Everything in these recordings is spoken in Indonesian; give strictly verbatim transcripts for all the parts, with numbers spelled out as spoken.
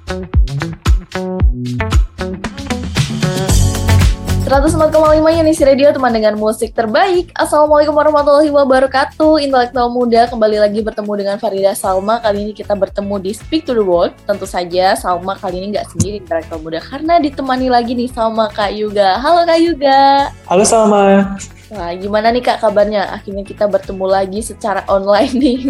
seratus empat koma lima Unisi Radio, teman dengan musik terbaik. Assalamualaikum warahmatullahi wabarakatuh. Intelektual muda, kembali lagi bertemu dengan Farida Salma. Kali ini kita bertemu di Speak to the World. Tentu saja Salma kali ini gak sendiri intelektual muda, karena ditemani lagi nih sama Kak Yuga. Halo Kak Yuga. Halo Salma. Wah, gimana nih Kak kabarnya? Akhirnya kita bertemu lagi secara online nih.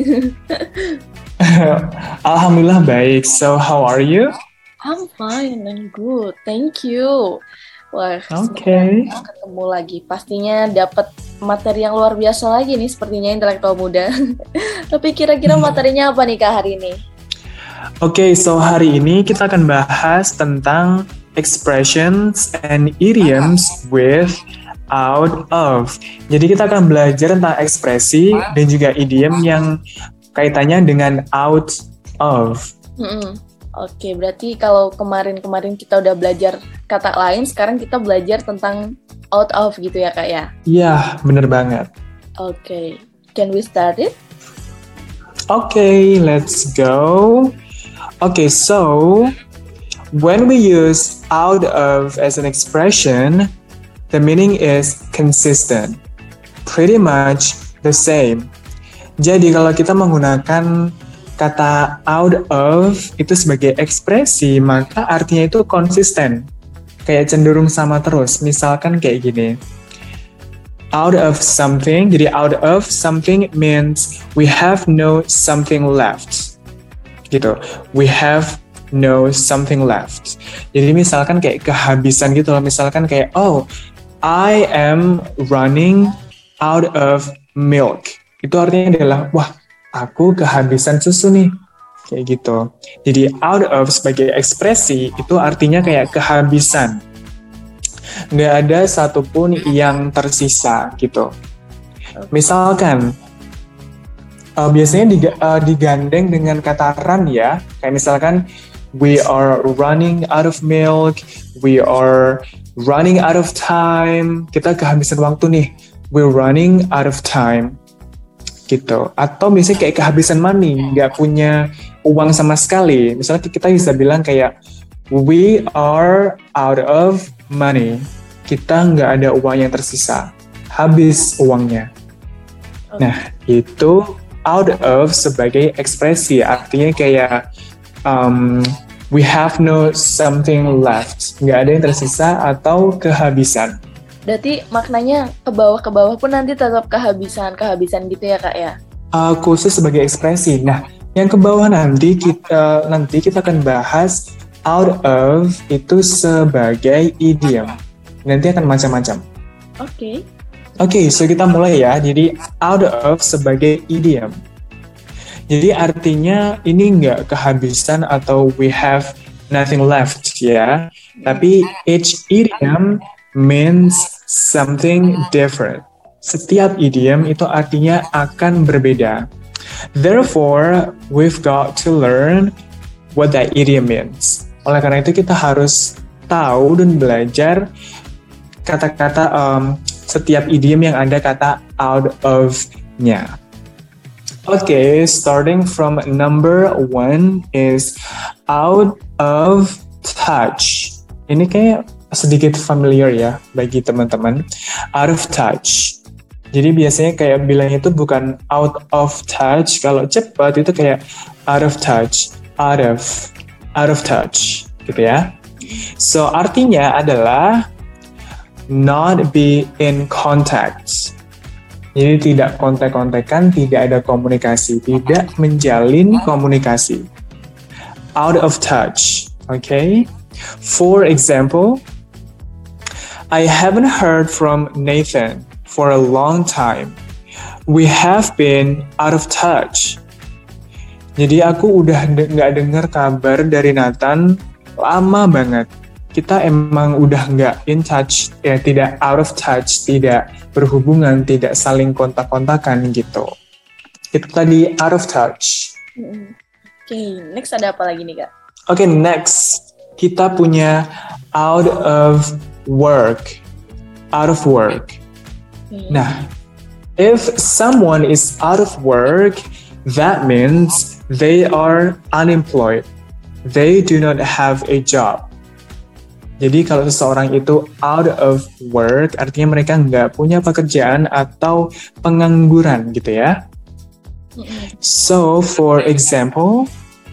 Alhamdulillah baik. So how are you? I'm fine and good. Thank you. Wah, okay. Semoga ketemu lagi. Pastinya dapat materi yang luar biasa lagi nih sepertinya intelektual muda. Tapi kira-kira materinya apa nih Kak hari ini? Oke, okay, so hari ini kita akan bahas tentang expressions and idioms with out of. Jadi kita akan belajar tentang ekspresi dan juga idiom yang kaitannya dengan out of. Mm-mm. Oke, berarti kalau kemarin-kemarin kita udah belajar kata lain, sekarang kita belajar tentang out of gitu ya Kak ya? Iya, bener banget. Oke, can we start it? Oke, okay, let's go. Okay, so when we use out of as an expression, the meaning is consistent, pretty much the same. Jadi kalau kita menggunakan kata out of itu sebagai ekspresi, maka artinya itu konsisten, kayak cenderung sama terus. Misalkan kayak gini, out of something. Jadi out of something means we have no something left, gitu. We have no something left. Jadi misalkan kayak kehabisan gitu loh. Misalkan kayak, oh, I am running out of milk. Itu artinya adalah, wah, aku kehabisan susu nih, kayak gitu. Jadi out of sebagai ekspresi itu artinya kayak kehabisan. Nggak ada satupun yang tersisa gitu. Misalkan, uh, biasanya uh, digandeng dengan kata run ya. Kayak misalkan, we are running out of milk, we are running out of time. Kita kehabisan waktu nih, we're running out of time. Gitu. Atau misalnya kayak kehabisan money, nggak punya uang sama sekali. Misalnya kita bisa bilang kayak we are out of money. Kita nggak ada uang yang tersisa, habis uangnya. Okay. Nah, itu out of sebagai ekspresi, artinya kayak um, we have no something left, nggak ada yang tersisa atau kehabisan. Berarti maknanya ke bawah ke bawah pun nanti tetap kehabisan-kehabisan gitu ya Kak ya? Uh, khusus sebagai ekspresi. Nah, yang ke bawah nanti kita nanti kita akan bahas out of itu sebagai idiom. Nanti akan macam-macam. Oke. Okay. Oke, okay, so kita mulai ya. Jadi out of sebagai idiom. Jadi artinya ini nggak kehabisan atau we have nothing left ya. Tapi each idiom means something different. Setiap idiom itu artinya akan berbeda. Therefore, we've got to learn what that idiom means. Oleh karena itu kita harus tahu dan belajar kata-kata um, setiap idiom yang ada kata out of-nya. Oke, okay, starting from number one is out of touch. Ini kayak sedikit familiar ya bagi teman-teman. Out of touch. Jadi biasanya kayak bilang itu bukan out of touch. Kalau cepat itu kayak out of touch, out of, out of touch, gitu ya. So artinya adalah not be in contact. Jadi tidak kontak-kontakan, tidak ada komunikasi, tidak menjalin komunikasi. Out of touch, okay? For example, I haven't heard from Nathan for a long time. We have been out of touch. Jadi aku udah de- gak dengar kabar dari Nathan lama banget. Kita emang udah gak in touch, ya tidak out of touch, tidak berhubungan, tidak saling kontak-kontakan gitu. Itu tadi out of touch. Oke, okay, next ada apa lagi nih Kak? Oke, okay, next. Kita punya out of work. Out of work. Hmm. Nah, if someone is out of work, that means they are unemployed. they do not have a job. Jadi kalau seseorang itu out of work, artinya mereka nggak punya pekerjaan atau pengangguran gitu ya. So, for example,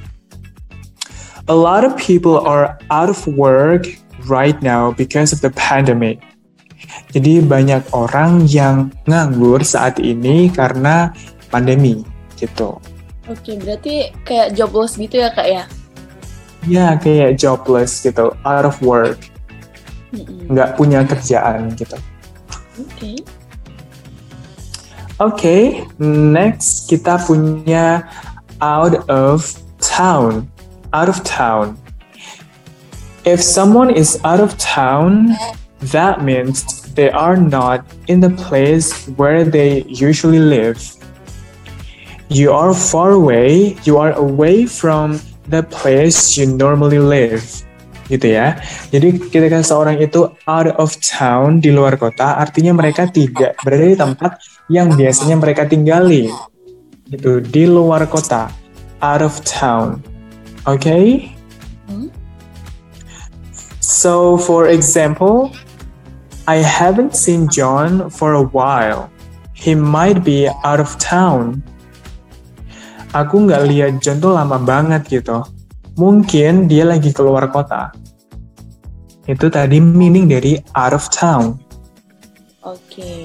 a lot of people are out of work right now because of the pandemic. Jadi banyak orang yang nganggur saat ini karena pandemi gitu. Oke, berarti kayak jobless gitu ya Kak ya? Ya, kayak jobless gitu, out of work, Mm-mm. nggak punya kerjaan gitu. Oke. Okay. Oke, okay, next kita punya out of town. Out of town. If someone is out of town, that means they are not in the place where they usually live. You are far away, you are away from the place you normally live, gitu ya. Jadi ketika seorang itu out of town, di luar kota, artinya mereka tidak berada di tempat yang biasanya mereka tinggali, gitu, di luar kota, out of town. Oke? Okay? Hmm? So, for example, I haven't seen John for a while. He might be out of town. Aku nggak lihat John tuh lama banget gitu. Mungkin dia lagi keluar kota. Itu tadi meaning dari out of town. Oke. Okay.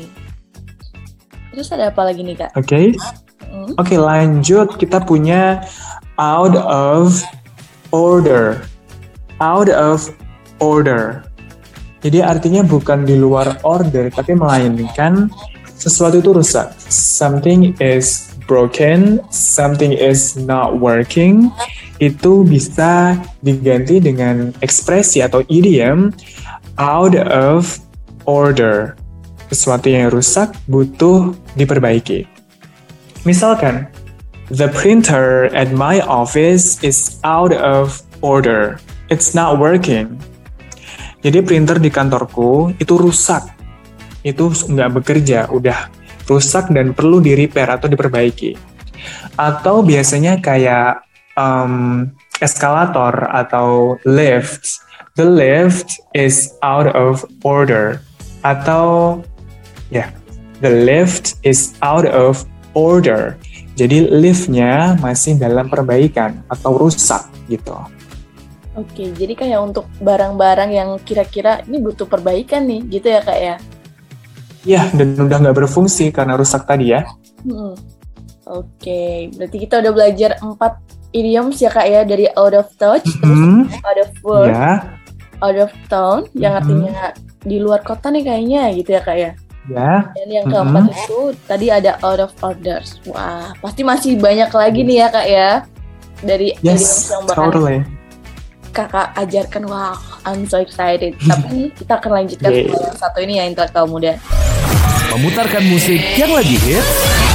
Terus ada apa lagi nih Kak? Oke. Okay. Hmm? Oke, okay, lanjut kita punya out of order. Out of order. Jadi artinya bukan di luar order, tapi melainkan sesuatu itu rusak. Something is broken, something is not working, itu bisa diganti dengan ekspresi atau idiom out of order. Sesuatu yang rusak butuh diperbaiki. Misalkan, the printer at my office is out of order. It's not working. Jadi printer di kantorku itu rusak. Itu nggak bekerja, udah rusak dan perlu di-repair atau diperbaiki. Atau biasanya kayak um, eskalator atau lift. The lift is out of order. Atau ya, yeah, the lift is out of order. Jadi liftnya masih dalam perbaikan atau rusak gitu. Oke, jadi kayak untuk barang-barang yang kira-kira ini butuh perbaikan nih, gitu ya Kak ya? Ya, dan udah nggak berfungsi karena rusak tadi ya. Hmm. Oke, berarti kita udah belajar empat idioms ya Kak ya, dari out of touch, mm-hmm. terus out of work, yeah. out of town, mm-hmm. yang artinya di luar kota nih kayaknya gitu ya Kak ya. Ya. Dan yang keempat mm-hmm. itu tadi ada out of orders. Wah, pasti masih banyak lagi nih ya Kak ya, dari yes, idioms yang bakal totally. Kakak ajarkan. Wow, I'm so excited. Tapi kita akan lanjutkan yeah. yang satu ini ya, intelektual muda. Memutarkan musik yang lagi hits,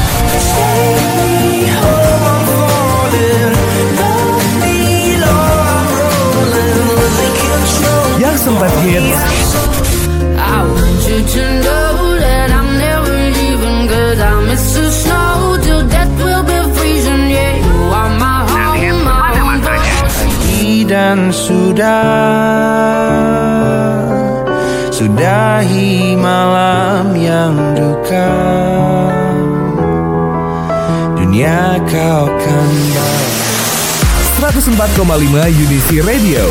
yang sempat hits, dan sudah sudahi malam yang duka, dunia kau kan seratus empat koma lima Unisi Radio.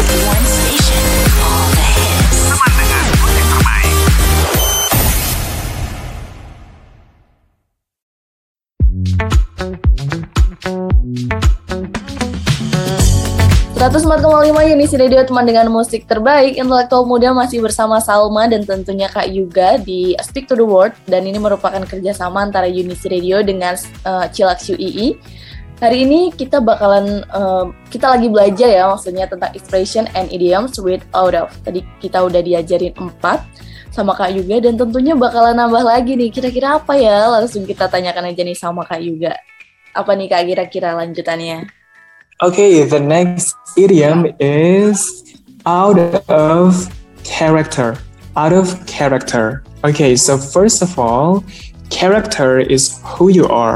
seratus empat koma lima Unisi Radio, teman dengan musik terbaik. Intelektual muda masih bersama Salma dan tentunya Kak Yuga di Speak to the World. Dan ini merupakan kerjasama antara Unisi Radio dengan uh, Chillax U I I. Hari ini kita bakalan, uh, kita lagi belajar ya, maksudnya tentang expression and idioms with out of. Tadi kita udah diajarin empat sama Kak Yuga dan tentunya bakalan nambah lagi nih. Kira-kira apa ya? Langsung kita tanyakan aja nih sama Kak Yuga. Apa nih Kak kira-kira lanjutannya? Okay, the next idiom is out of character. Out of character. Okay, so first of all, character is who you are.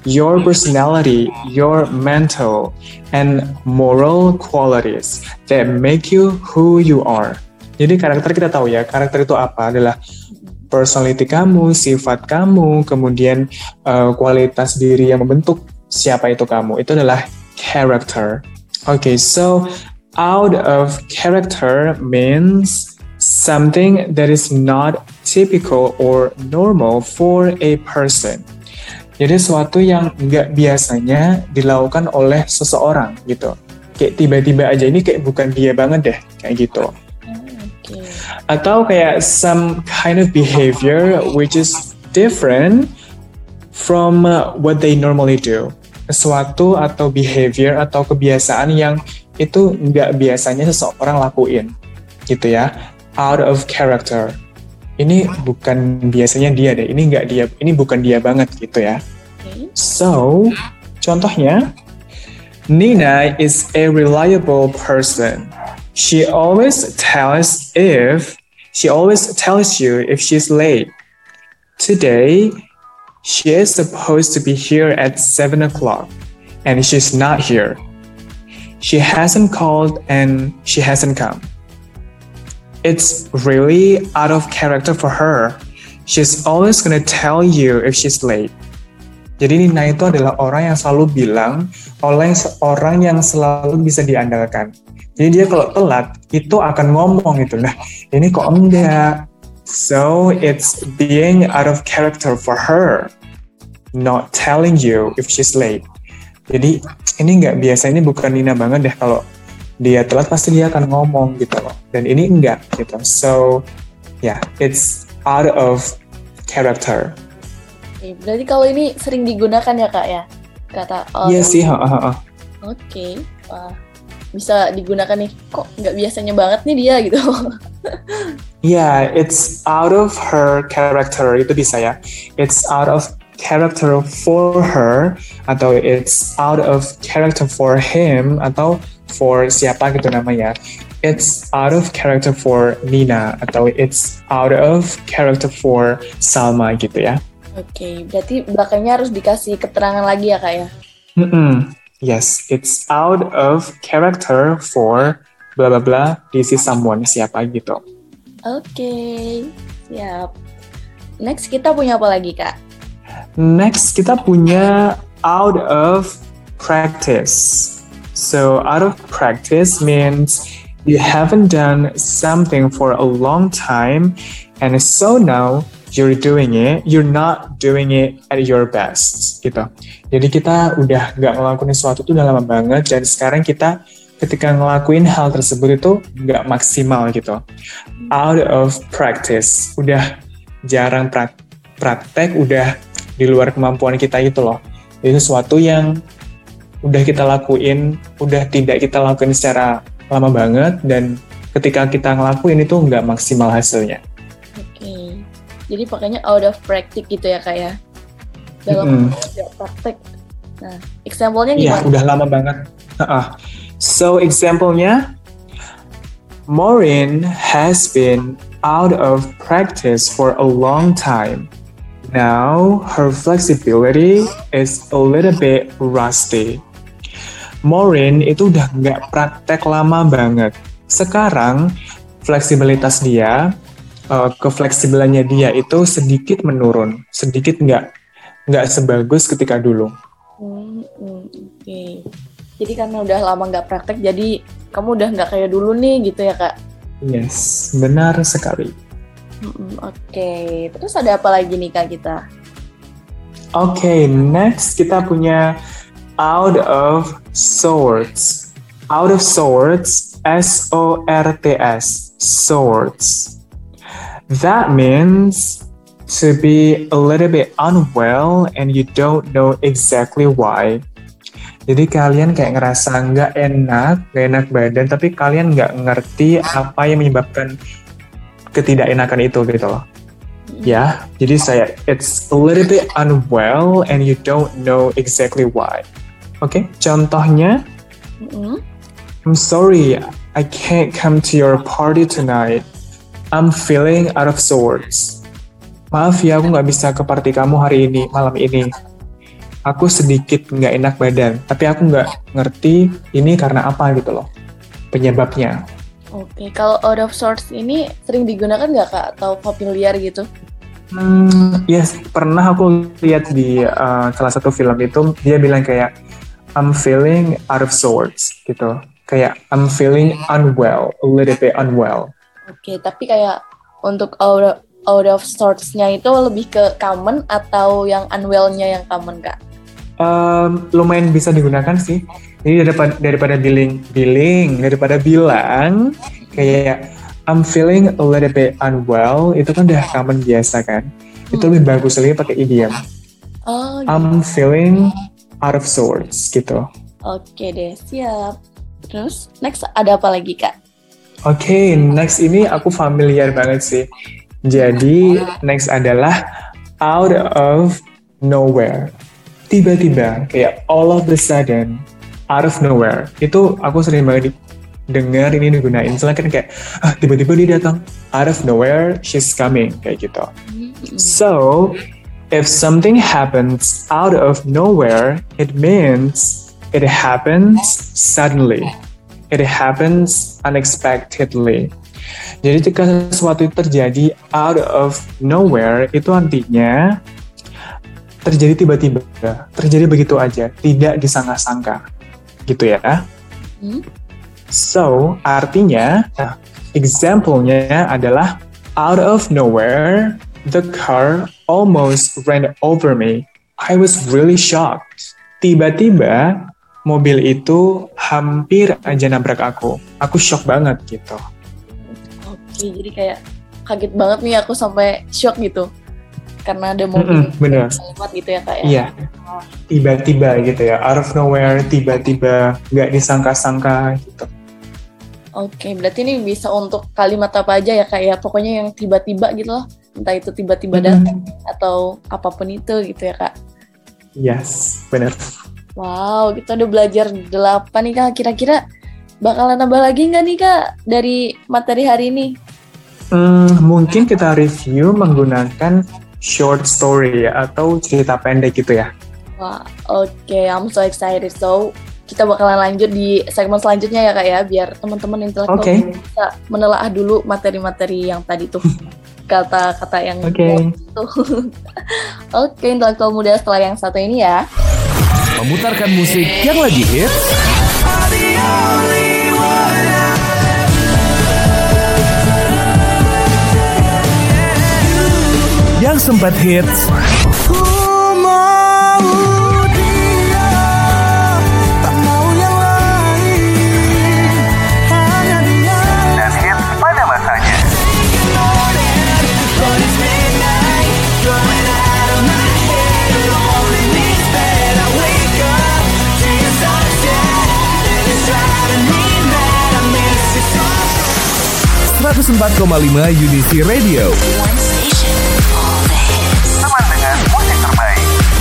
your personality, your mental, and moral qualities that make you who you are. Jadi karakter kita tahu ya, karakter itu apa? Adalah personality kamu, sifat kamu, kemudian uh, kualitas diri yang membentuk siapa itu kamu. Itu adalah character. Okay, so out of character means something that is not typical or normal for a person. Jadi sesuatu yang nggak biasanya dilakukan oleh seseorang gitu. Kayak tiba-tiba aja ini kayak bukan dia banget deh, kayak gitu. Okay. Atau kayak some kind of behavior which is different from uh, what they normally do. Sesuatu atau behavior atau kebiasaan yang itu nggak biasanya seseorang lakuin, gitu ya. Out of character. Ini bukan biasanya dia deh. Ini nggak dia. Ini bukan dia banget, gitu ya. Okay. So, contohnya, Nina is a reliable person. She always tells if she always tells you if she's late. Today, she is supposed to be here at seven o'clock, and she's not here. She hasn't called and she hasn't come. It's really out of character for her. She's always gonna tell you if she's late. Jadi Nina itu adalah orang yang selalu bilang, oleh orang yang selalu bisa diandalkan. Jadi dia kalau telat, itu akan ngomong gitu. Nah, ini kok enggak. So, it's being out of character for her. Not telling you if she's late. Jadi, ini enggak biasa. Ini bukan Nina banget deh. Kalau dia telat, pasti dia akan ngomong gitu loh. Dan ini enggak gitu. So, yeah, it's out of character. Oke, berarti kalau ini sering digunakan ya, Kak, ya? Kata orang. Iya sih, ha, ha, ha. Oke, wah. Bisa digunakan nih, kok nggak biasanya banget nih dia gitu. Yeah, it's out of her character, itu bisa ya. It's out of character for her, atau it's out of character for him, atau for siapa gitu namanya. It's out of character for Nina, atau it's out of character for Salma gitu ya. Oke, okay, berarti belakangnya harus dikasih keterangan lagi ya, Kak ya? Mm-mm. Yes, it's out of character for blah blah blah. This is someone, siapa gitu. Oke, okay, siap. Next kita punya apa lagi, Kak? Next kita punya out of practice. So out of practice means you haven't done something for a long time, and so now you're doing it, you're not doing it at your best, gitu. Jadi kita udah nggak ngelakuin sesuatu itu udah lama banget, dan sekarang kita ketika ngelakuin hal tersebut itu nggak maksimal gitu. Out of practice, udah jarang pra- praktek, udah di luar kemampuan kita gitu loh. Itu sesuatu yang udah kita lakuin, udah tidak kita lakuin secara lama banget, dan ketika kita ngelakuin itu nggak maksimal hasilnya. Oke. Jadi pakainya out of practice gitu ya, Kak ya? Dalam mm-hmm. praktek. Nah, example-nya gimana? Iya, udah lama banget. Uh-uh. So, example-nya, Maureen has been out of practice for a long time. Now, her flexibility is a little bit rusty. Maureen itu udah nggak praktek lama banget. Sekarang, fleksibilitas dia, Uh, kefleksibelannya dia itu sedikit menurun, sedikit nggak nggak sebagus ketika dulu. Hmm, hmm, Oke, okay. Jadi karena udah lama nggak praktek, jadi kamu udah nggak kayak dulu nih, gitu ya, Kak? Yes, benar sekali. Hmm, Oke, okay. Terus ada apa lagi nih, Kak, kita? Oke, okay, next kita punya out of sorts. Out of sorts, S O R T S, sorts. That means to be a little bit unwell and you don't know exactly why. Jadi kalian kayak ngerasa nggak enak, nggak enak badan, tapi kalian nggak ngerti apa yang menyebabkan ketidakenakan itu gitu loh. Ya, jadi saya it's a little bit unwell and you don't know exactly why. Oke, okay? Contohnya, mm-hmm. I'm sorry, I can't come to your party tonight. I'm feeling out of sorts. Maaf ya, aku nggak bisa ke party kamu hari ini, malam ini. aku sedikit nggak enak badan, tapi aku nggak ngerti ini karena apa gitu loh, penyebabnya. Oke, kalau out of sorts ini sering digunakan nggak Kak? Atau familiar gitu? Hmm, yes, pernah aku lihat di uh, salah satu film itu, dia bilang kayak, I'm feeling out of sorts gitu. Kayak, I'm feeling unwell, a little bit unwell. Oke, tapi kayak untuk out of, out of sorts-nya itu lebih ke common atau yang unwell-nya yang common Kak? Um, lumayan bisa digunakan sih. Jadi daripada, daripada biling, biling, daripada bilang kayak I'm feeling a little bit unwell, itu kan udah common biasa kan. Itu hmm. lebih bagus lagi pakai idiom. Oh, gitu. I'm feeling out of sorts gitu. Oke deh, siap. Terus next ada apa lagi Kak? Oke, okay, next ini aku familiar banget sih. Jadi next adalah out of nowhere. Tiba-tiba, kayak all of the sudden, out of nowhere. Itu aku sering banget dengar ini digunain. Misalnya kan kayak, ah, tiba-tiba dia datang, out of nowhere, she's coming, kayak gitu. So, if something happens out of nowhere, it means it happens suddenly. It happens unexpectedly. Jadi jika sesuatu itu terjadi out of nowhere, itu artinya terjadi tiba-tiba, terjadi begitu aja, tidak disangka-sangka, gitu ya. Hmm? So, artinya, nah, example-nya adalah out of nowhere, the car almost ran over me. I was really shocked. Tiba-tiba, mobil itu hampir aja nabrak aku. Aku shock banget gitu. Oke, jadi kayak kaget banget nih aku sampai shock gitu. Karena ada mobil lewat gitu ya Kak ya? Iya, tiba-tiba gitu ya, out of nowhere, tiba-tiba, nggak disangka-sangka gitu. Oke, berarti ini bisa untuk kalimat apa aja ya Kak ya? Pokoknya yang tiba-tiba gitu loh, entah itu tiba-tiba datang mm-hmm. atau apapun itu gitu ya Kak? Yes, benar. Wow, kita udah belajar delapan nih Kak, kira-kira bakalan nambah lagi nggak nih Kak dari materi hari ini? Hmm, mungkin kita review menggunakan short story atau cerita pendek gitu ya. Wah, oke, okay. I'm so excited. So, kita bakalan lanjut di segmen selanjutnya ya Kak ya, biar teman-teman intelektual okay. bisa menelaah dulu materi-materi yang tadi tuh. Kata-kata yang okay. itu. Oke, okay, intelektual muda setelah yang satu ini ya. Memutarkan musik yang lagi hits. Yang sempat hits. Ku mau dia, tak mau yang lain, hanya dia. Dan hits pada masanya. seratus empat koma lima Unity Radio. Teman dengan musik terbaik.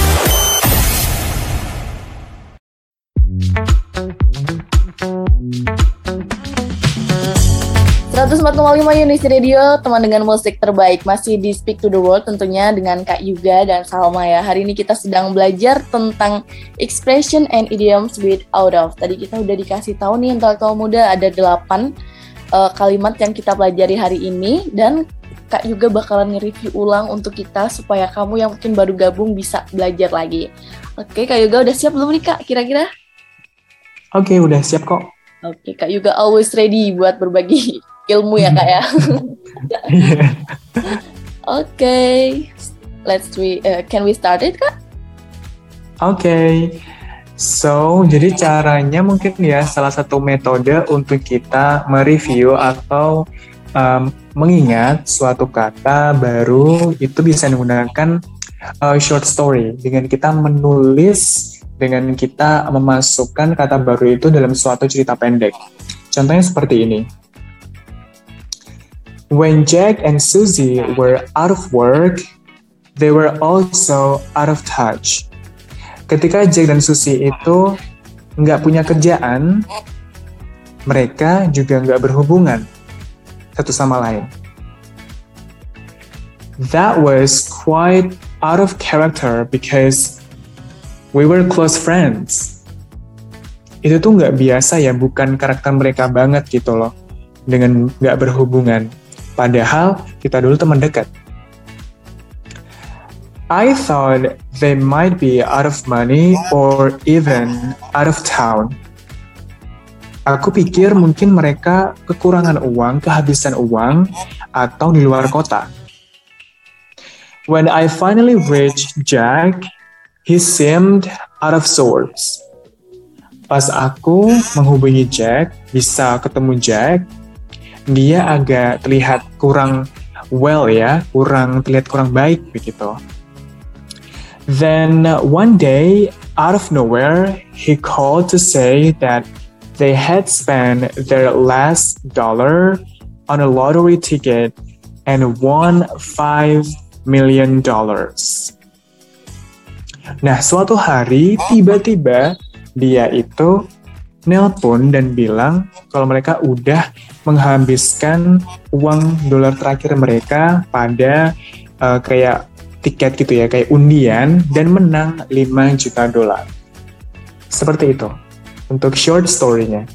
seratus empat koma lima Unity Radio, teman dengan musik terbaik. Masih di Speak to the World tentunya dengan Kak Yuga dan Salma ya. Hari ini kita sedang belajar tentang expression and idioms with out of. Tadi kita udah dikasih tahu nih intelektual muda ada delapan uh, kalimat yang kita pelajari hari ini, dan Kak juga bakalan nge-review ulang untuk kita supaya kamu yang mungkin baru gabung bisa belajar lagi. Oke, Kak Yuga udah siap belum nih Kak kira-kira? Oke, udah siap kok. Oke, Kak Yuga always ready buat berbagi ilmu ya Kak ya. Oke, let's we uh, can we start it Kak? Oke. Okay. So, jadi caranya mungkin ya salah satu metode untuk kita mereview atau um, mengingat suatu kata baru itu bisa menggunakan uh, short story dengan kita menulis, dengan kita memasukkan kata baru itu dalam suatu cerita pendek. Contohnya seperti ini. When Jack and Susie were out of work, they were also out of touch. Ketika Jack dan Susie itu nggak punya kerjaan, mereka juga nggak berhubungan satu sama lain. That was quite out of character because We were close friends. Itu tuh nggak biasa ya, bukan karakter mereka banget gitu loh, dengan nggak berhubungan. Padahal kita dulu teman dekat. I thought they might be out of money or even out of town. Aku pikir mungkin mereka kekurangan uang, kehabisan uang, atau di luar kota. When I finally reached Jack, he seemed out of sorts. Pas aku menghubungi Jack, bisa ketemu Jack, dia agak terlihat kurang well ya, kurang terlihat kurang baik begitu. Then one day, out of nowhere, he called to say that they had spent their last dollar on a lottery ticket and won five million dollars. Nah, suatu hari tiba-tiba dia itu nelpon dan bilang kalau mereka udah menghabiskan uang dolar terakhir mereka pada uh, kayak tiket gitu ya, kayak undian, dan menang lima juta dolar. Seperti itu untuk short story-nya.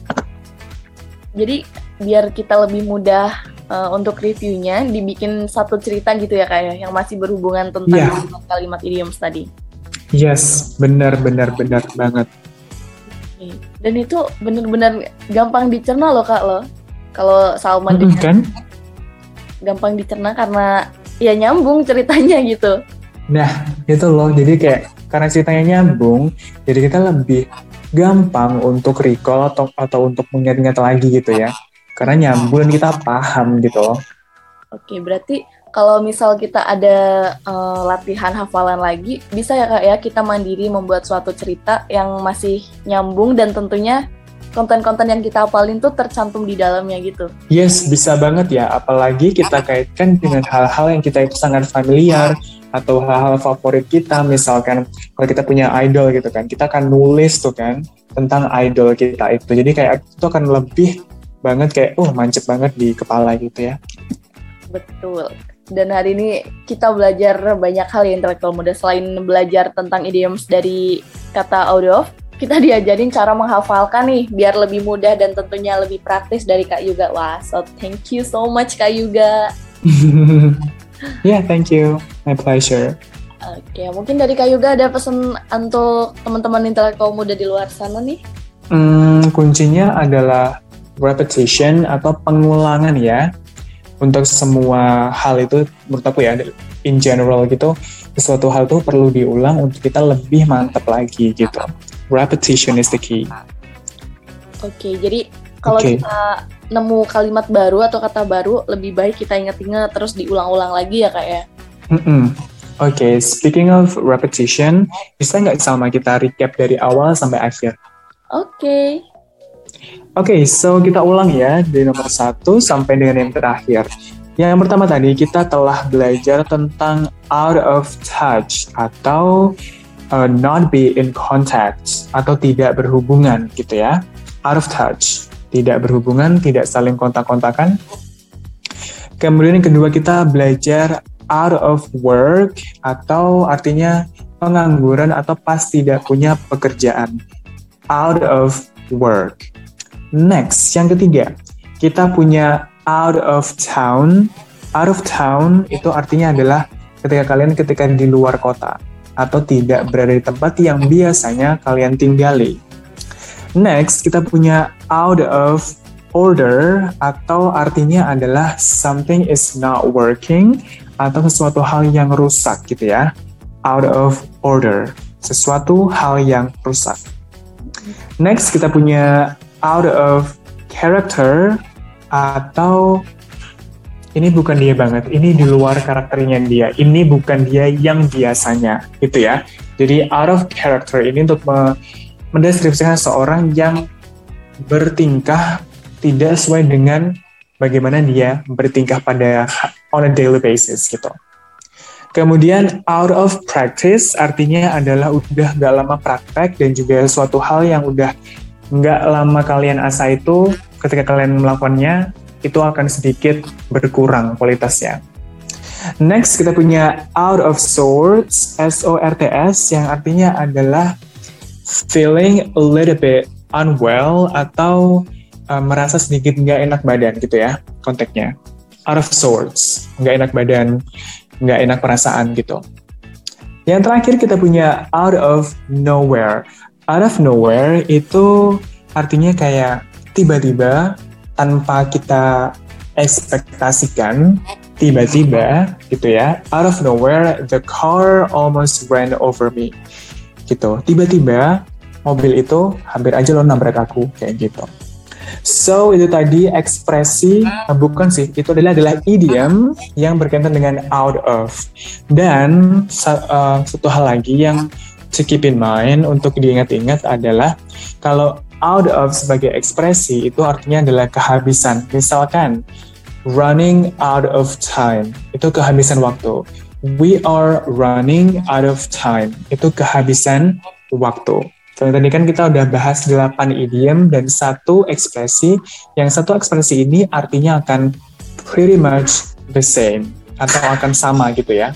Jadi biar kita lebih mudah uh, untuk reviewnya, dibikin satu cerita gitu ya kayak yang masih berhubungan tentang yeah. kalimat idioms tadi. Yes, benar benar benar banget. Okay. Dan itu benar-benar gampang dicerna loh Kak loh. Kalau Salma mm-hmm, kan? Gampang dicerna karena ya nyambung ceritanya gitu. Nah, itu loh. Jadi kayak karena ceritanya nyambung, jadi kita lebih gampang untuk recall atau atau untuk mengingat-ingat lagi gitu ya. Karena nyambung dan kita paham gitu loh. Oke, berarti kalau misal kita ada uh, latihan hafalan lagi, bisa ya Kak ya kita mandiri membuat suatu cerita yang masih nyambung dan tentunya konten-konten yang kita hafalin tuh tercantum di dalamnya gitu. Yes, bisa banget ya. Apalagi kita kaitkan dengan hal-hal yang kita itu sangat familiar atau hal-hal favorit kita. Misalkan kalau kita punya idol gitu kan, kita akan nulis tuh kan tentang idol kita itu. Jadi kayak itu akan lebih banget kayak, oh mancep banget di kepala gitu ya. Betul. Dan hari ini kita belajar banyak hal ya intelektual muda. Selain belajar tentang idioms dari kata out of, kita diajarin cara menghafalkan nih biar lebih mudah dan tentunya lebih praktis dari Kak Yuga. Wah, so thank you so much Kak Yuga. Yeah, thank you. My pleasure. Oke, mungkin dari Kak Yuga ada pesan untuk teman-teman intelektual muda di luar sana nih? Hmm, kuncinya adalah repetition atau pengulangan ya. Untuk semua hal itu menurut aku ya, in general gitu, sesuatu hal itu perlu diulang untuk kita lebih mantap lagi gitu. Repetition is the key. Oke, okay, jadi kalau okay. kita nemu kalimat baru atau kata baru, lebih baik kita ingat-ingat terus diulang-ulang lagi ya Kak ya? Mm-mm. Oke, okay, speaking of repetition, bisa nggak sama kita recap dari awal sampai akhir? Oke. Okay. Oke, okay, so kita ulang ya dari nomor satu sampai dengan yang terakhir. Yang pertama tadi kita telah belajar tentang out of touch atau uh, not be in contact atau tidak berhubungan gitu ya. Out of touch, tidak berhubungan, tidak saling kontak-kontakan. Kemudian yang kedua kita belajar out of work atau artinya pengangguran atau pas tidak punya pekerjaan. Out of work. Next, yang ketiga, kita punya out of town. Out of town itu artinya adalah ketika kalian ketika di luar kota atau tidak berada di tempat yang biasanya kalian tinggali. Next, kita punya out of order atau artinya adalah something is not working atau sesuatu hal yang rusak gitu ya. Out of order, sesuatu hal yang rusak. Next, kita punya out of character atau ini bukan dia banget, ini di luar karakternya dia, ini bukan dia yang biasanya gitu ya. Jadi out of character ini untuk me- mendeskripsikan seorang yang bertingkah tidak sesuai dengan bagaimana dia bertingkah pada on a daily basis gitu. Kemudian out of practice artinya adalah udah gak lama praktek dan juga suatu hal yang udah nggak lama kalian asah itu, ketika kalian melakukannya, itu akan sedikit berkurang kualitasnya. Next, kita punya out of sorts, S O R T S, yang artinya adalah feeling a little bit unwell atau uh, merasa sedikit nggak enak badan gitu ya konteksnya. Out of sorts, nggak enak badan, nggak enak perasaan gitu. Yang terakhir kita punya out of nowhere. Out of nowhere itu artinya kayak tiba-tiba tanpa kita ekspektasikan, tiba-tiba gitu ya, out of nowhere the car almost ran over me gitu. Tiba-tiba mobil itu hampir aja lo nabrak aku kayak gitu. So itu tadi ekspresi, uh, bukan sih, itu adalah adalah idiom yang berkaitan dengan out of. Dan uh, satu hal lagi yang to keep in mind untuk diingat-ingat adalah kalau out of sebagai ekspresi itu artinya adalah kehabisan. Misalkan running out of time, itu kehabisan waktu. We are running out of time, itu kehabisan waktu. So, tadi kan kita udah bahas delapan idiom dan satu ekspresi. Yang satu ekspresi ini artinya akan pretty much the same atau akan sama gitu ya.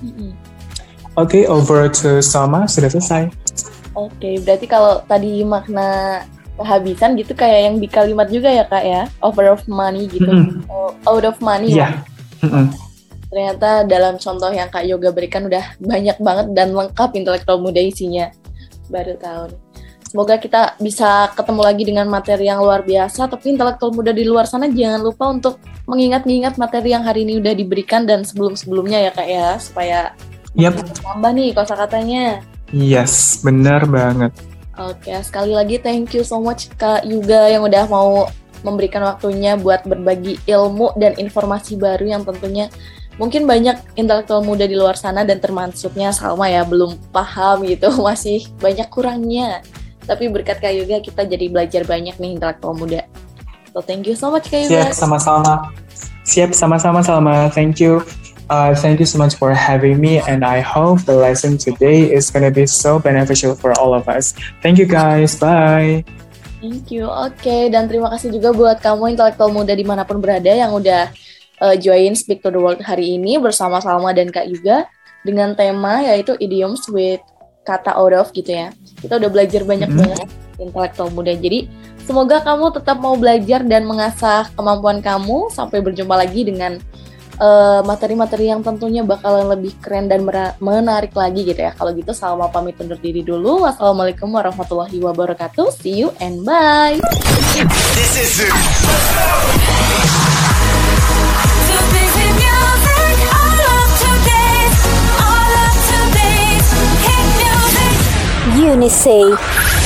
Oke, okay, over to Salma, sudah selesai. Oke, okay, berarti kalau tadi makna kehabisan gitu kayak yang di kalimat juga ya Kak ya, over of money gitu, mm-hmm. out of money. Iya. Yeah. Mm-hmm. Ternyata dalam contoh yang Kak Yoga berikan udah banyak banget dan lengkap intelektual muda isinya. Baru tahu. Semoga kita bisa ketemu lagi dengan materi yang luar biasa, tapi intelektual muda di luar sana jangan lupa untuk mengingat-ingat materi yang hari ini udah diberikan dan sebelum-sebelumnya ya Kak ya, supaya yep. tambah nih kosakatanya. Yes, benar banget. Oke, sekali lagi thank you so much Kak Yuga yang udah mau memberikan waktunya buat berbagi ilmu dan informasi baru yang tentunya mungkin banyak intelektual muda di luar sana dan termasuknya Salma ya belum paham gitu, masih banyak kurangnya. Tapi berkat Kak Yuga kita jadi belajar banyak nih intelektual muda. So thank you so much Kak Yuga. Siap, sama-sama. Siap, sama-sama Salma. Thank you. Uh, thank you so much for having me, and I hope the lesson today is going to be so beneficial for all of us. Thank you guys, bye. Thank you, oke, okay. Dan terima kasih juga buat kamu intelektual muda dimanapun berada yang udah uh, join Speak to the World hari ini bersama Salma dan Kak Yuga dengan tema yaitu idioms with kata out of gitu ya. Kita udah belajar banyak mm-hmm. banget intelektual muda, jadi semoga kamu tetap mau belajar dan mengasah kemampuan kamu sampai berjumpa lagi dengan Uh, materi-materi yang tentunya bakalan lebih keren dan mera- menarik lagi gitu ya. Kalau gitu Salma pamit undur diri dulu. Wassalamualaikum warahmatullahi wabarakatuh. See you and bye. This is it. Unisay.